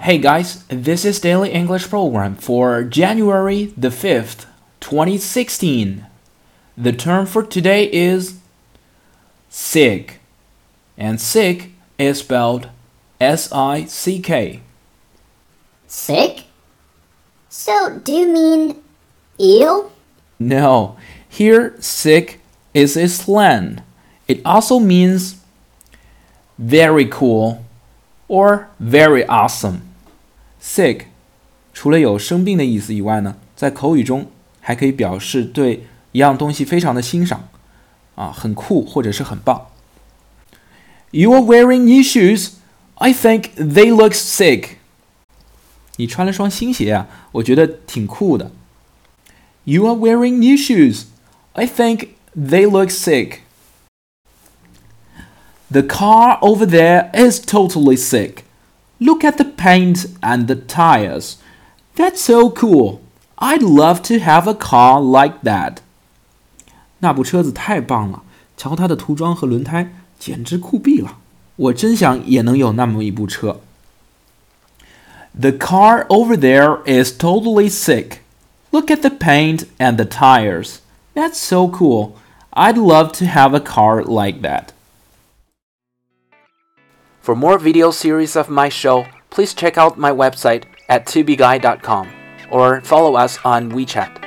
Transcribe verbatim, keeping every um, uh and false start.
Hey guys, this is Daily English Program for January the fifth, twenty sixteen. The term for today is sick, and sick is spelled S I C K. Sick? So, do you mean ill? No, here sick is a slang. It also means very cool or very awesome. Sick 除了有生病的意思以外呢，在口语中还可以表示对一样东西非常的欣赏啊，很酷或者是很棒。You are wearing new shoes. I think they look sick. 你穿了双新鞋啊，我觉得挺酷的。You are wearing new shoes. I think they look sick. The car over there is totally sick. Look at the paint and the tires. That's so cool. I'd love to have a car like that. 那部车子太棒了，瞧它的涂装和轮胎，简直酷毙了。我真想也能有那么一部车。The car over there is totally sick. Look at the paint and the tires. That's so cool. I'd love to have a car like that. For more video series of my show, please check out my website at tubeguy dot com or follow us on WeChat.